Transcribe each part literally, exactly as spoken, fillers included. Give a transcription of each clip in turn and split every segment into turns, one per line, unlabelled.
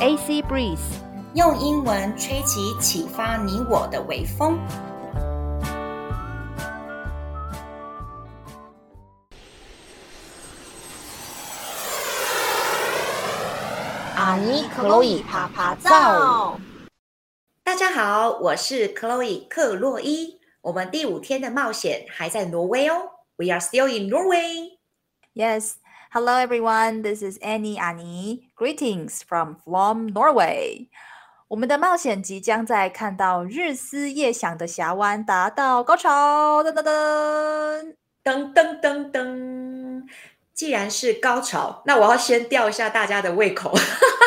A C Breeze，
用英文吹起啟發你我的微風。
阿尼克洛伊趴趴造。
大家好，我是 Chloe 克洛伊。我們第五天的冒險還在挪威哦。We are still in Norway.
Yes. Hello everyone. This is Annie 阿尼。Greetings from Flom, Norway. 我們的冒險即將在看到日思夜想的峽灣達到高潮。噔噔噔
噔噔噔噔。既然是高潮，那我要先吊一下大家的胃口。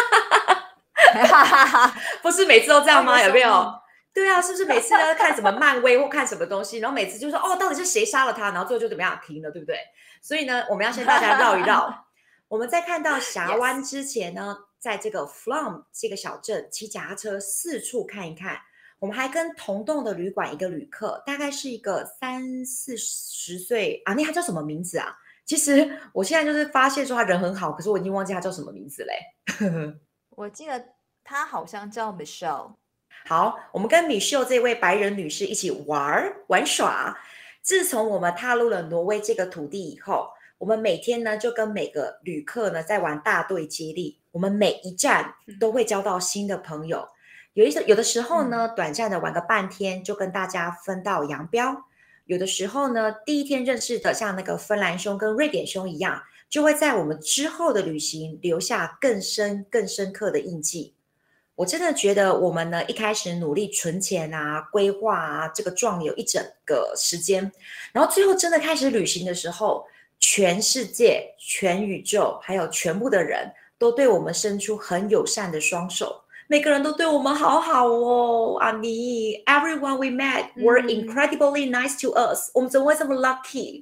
不是每次都這樣嗎？有沒有？對啊，是不是每次都要看什麼漫威或看什麼東西，然後每次就說哦，到底是誰殺了他，然後最後就怎麼樣停了，對不對？所以呢，我們要先大家繞一繞。我們在看到峽灣之前呢， yes. 在這個 Flom 這個小鎮騎腳踏車四處看一看。我們還跟同棟的旅館一個旅客，大概是一個三四十歲啊，那他叫什麼名字啊？其實我現在就是發現說他人很好，可是我已經忘記他叫什麼名字嘞。
我記得他好像叫 Michelle。
好，我們跟 Michelle 這位白人女士一起玩玩耍。自從我們踏入了挪威這個土地以後，我們每天呢就跟每個旅客呢在玩大隊接力。我們每一站都會交到新的朋友。有一有的時候呢，短暫的玩個半天，就跟大家分道揚鑣。有的時候呢，第一天認識的像那個芬蘭兄跟瑞典兄一樣，就會在我們之後的旅行留下更深更深刻的印記。我真的覺得我們呢一開始努力存錢啊、規劃啊，這個壯遊一整個時間，然後最後真的開始旅行的時候，全世界、全宇宙還有全部的人都對我們伸出很友善的雙手。每個人都對我們好好哦，阿尼 Everyone we met were incredibly nice to us、嗯、我們怎麼會這麼 lucky?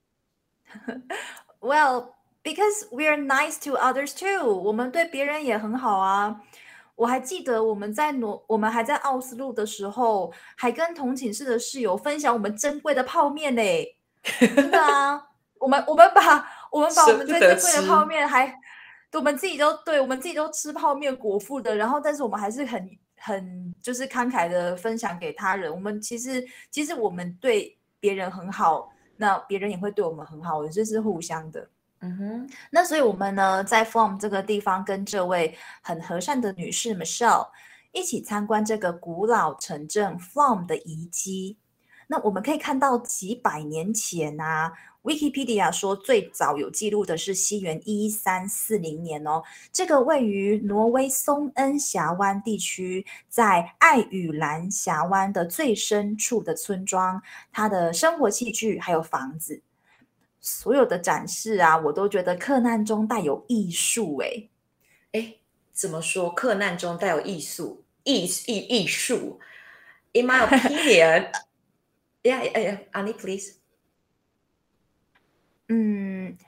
Well, because we are nice to others too. 我們對別人也很好啊。我還記得我們在挪，我們還在奧斯陸的時候，還跟同寢室的室友分享我們珍貴的泡麵嘞。真的啊，我們我們把我們把我們最珍貴的泡麵還。我們自己都對，我們自己都吃泡麵果腹的，然後但是我們還是很很就是慷慨的分享給他人。我們其實其實我們對別人很好，那別人也會對我們很好，這是互相的。嗯哼，那所以我們呢在 Flom 這個地方跟這位很和善的女士 Michelle 一起參觀這個古老城鎮 Flom 的遺跡。那我們可以看到幾百年前啊，Wikipedia 說最早有記錄的是西元一三四零年哦。這個位於挪威松恩峽灣地區，在愛與蘭峽灣的最深處的村莊，它的生活器具還有房子，所有的展示啊，我都覺得克難中帶有藝術。誒
誒，怎麼說？克難中帶有藝術，藝藝藝術。In my opinion. Yeah, yeah, Annie, please.
嗯，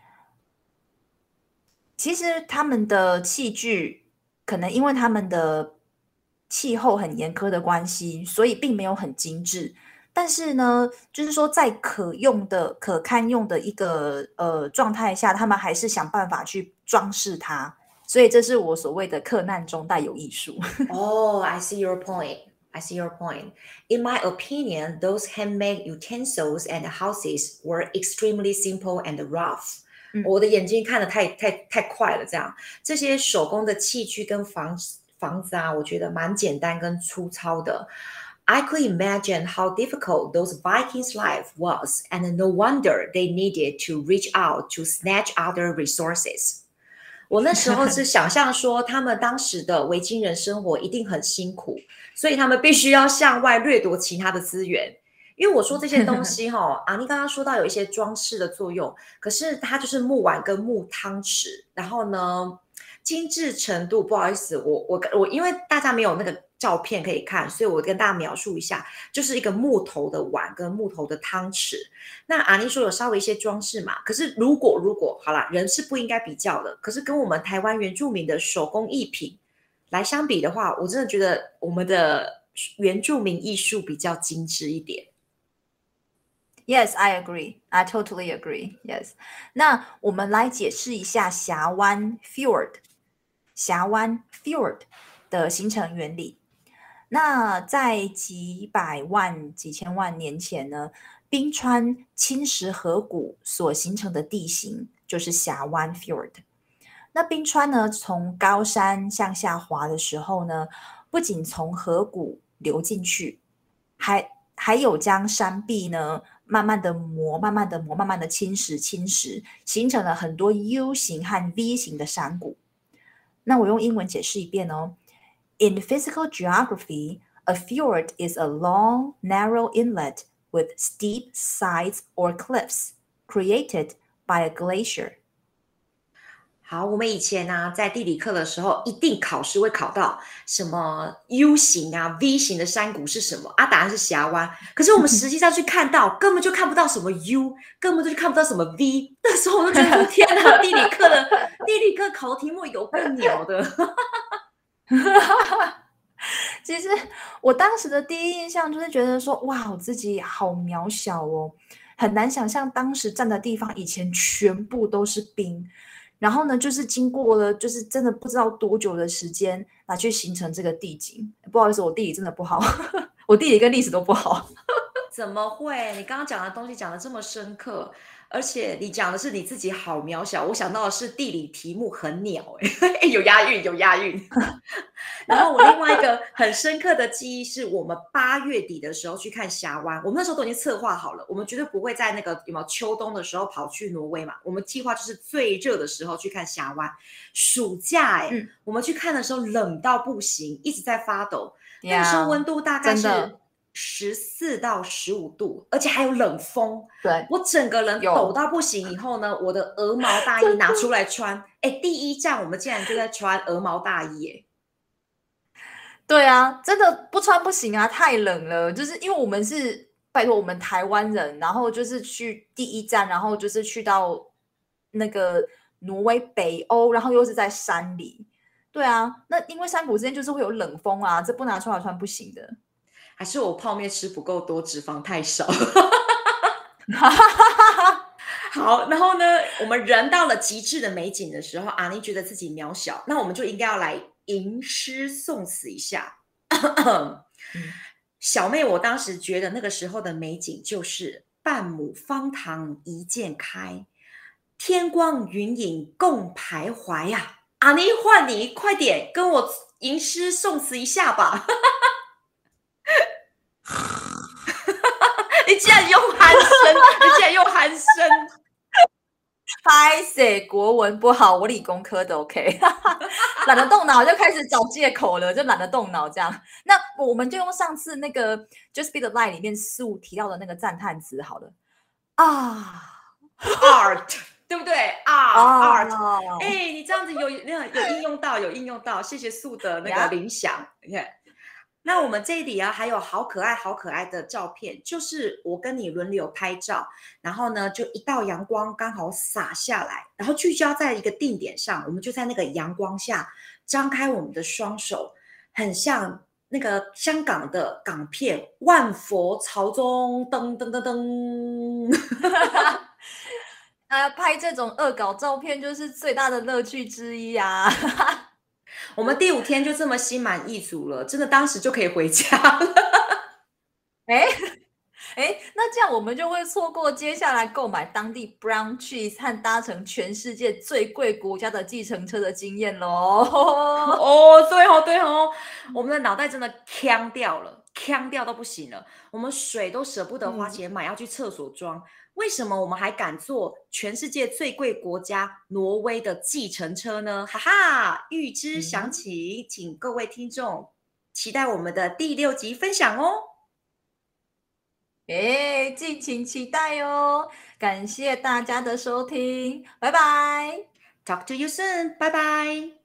其實他們的器具可能因為他們的氣候很嚴苛的關係，所以並沒有很精緻。但是呢，就是說在可用的、可堪用的一個呃狀態下，他們還是想辦法去裝飾它。所以這是我所謂的克難中帶有藝術。
Oh, I see your point.I see your point. In my opinion, those handmade utensils and houses were extremely simple and rough. 嗯、我的眼睛看得太太太快了，這樣這些手工的器具跟房房子啊，我覺得蠻簡單跟粗糙的。I could imagine how difficult those Vikings' life was, and no wonder they needed to reach out to snatch other resources. 我那時候是想象說，他們當時的維京人生活一定很辛苦，所以他們必須要向外掠奪其他的資源。因為我說這些東西哈，阿尼剛剛說到有一些裝飾的作用，可是它就是木碗跟木湯匙，然後呢，精緻程度不好意思，我我我因為大家沒有那個照片可以看，所以我跟大家描述一下，就是一個木頭的碗跟木頭的湯匙。那阿尼說有稍微一些裝飾嘛，可是如果如果好啦，人是不應該比較的，可是跟我們台灣原住民的手工藝品來相比的話，我真的覺得我們的原住民藝術比較精緻一點。
Yes, I agree. I totally agree. Yes. 那我們來解釋一下峽灣 Fjord。 峽灣 （fjord） 的形成原理。那在幾百萬、幾千萬年前呢，冰川侵蝕河谷所形成的地形就是峽灣 （fjord）。那冰川呢，從高山向下滑的時候呢，不僅從河谷流進去，還還有將山壁呢慢慢的磨、慢慢的磨、慢慢的侵蝕、侵蝕，形成了很多 U 型和 V 型的山谷。那我用英文解釋一遍哦。In physical geography, a fjord is a long, narrow inlet with steep sides or cliffs created by a glacier.
好，我們以前呢、啊，在地理課的時候，一定考試會考到什麼 U 型啊、V 型的山谷是什麼啊？答案是峽灣。可是我們實際上去看到，根本就看不到什麼 U， 根本就看不到什麼 V。那時候我就覺得，天哪，地理課的地理課考題目有夠鳥的。
其實我當時的第一印象就是覺得說，哇，我自己好渺小哦，很難想象當時站的地方以前全部都是冰。然後呢，就是經過了，就是真的不知道多久的時間來去形成這個地景。不好意思，我地理真的不好，我地理跟歷史都不好。
怎麼會？你剛剛講的東西講得這麼深刻，而且你講的是你自己好渺小，我想到的是地理題目很鳥、欸，有押韻，有押韻。然後我另外一個很深刻的記憶是我們八月底的時候去看峽灣，我們那時候都已經策劃好了，我們絕對不會在那個有沒有秋冬的時候跑去挪威嘛，我們計劃就是最熱的時候去看峽灣。暑假哎、欸嗯，我們去看的時候冷到不行，一直在發抖， yeah, 那個時候溫度大概是十四到十五度，而且還有冷風。
對，
我整個人抖到不行。以後呢，我的鵝毛大衣拿出來穿。哎，第一站我們竟然就在穿鵝毛大衣耶！
對啊，真的不穿不行啊，太冷了。就是因為我們是拜託我們台灣人，然後就是去第一站，然後就是去到那個挪威北歐，然後又是在山裡。對啊，那因為山谷之間就是會有冷風啊，這不拿出來穿不行的。
還是我泡麵吃不夠多，脂肪太少。好，然後呢，我們人到了極致的美景的時候，阿妮覺得自己渺小，那我們就應該要來吟詩宋詞一下。嗯、小妹，我當時覺得那個時候的美景就是半畝方塘一鑑開，天光雲影共徘徊呀、啊。阿妮，換你，快點跟我吟詩宋詞一下吧。你竟然用鼾聲，你竟然用鼾聲。
拍謝國文不好，我理工科的 OK， 懶得動腦就開始找借口了，就懶得動腦這樣。那我們就用上次那個 Just Be the Light 裡面素提到的那個讚嘆詞好了啊
，art 對不對啊
？art，
哎，你這樣子有有應用到，有應用到，謝謝素的那個聯想，你看。那我們這裡啊，還有好可愛、好可愛的照片，就是我跟你輪流拍照，然後呢，就一道陽光剛好灑下來，然後聚焦在一個定點上，我們就在那個陽光下張開我們的雙手，很像那個香港的港片《萬佛朝宗》噔噔噔噔。
啊，拍這種惡搞照片就是最大的樂趣之一啊。
我們第五天就這麼心滿意足了，真的當時就可以回家了。
哎哎，那這樣我們就會錯過接下來購買當地 brown cheese 和搭乘全世界最貴國家的計程車的經驗嘍。
哦，對哦，對哦，我們的腦袋真的嗆掉了，嗆掉都不行了。我們水都捨不得花錢買，嗯、要去廁所裝。為什麼我們還敢坐全世界最貴國家挪威的計程車呢？哈哈，預知詳情，嗯、請各位聽眾期待我們的第六集分享哦。
哎，敬請期待哦！感謝大家的收聽，拜拜。
Talk to you soon，拜拜。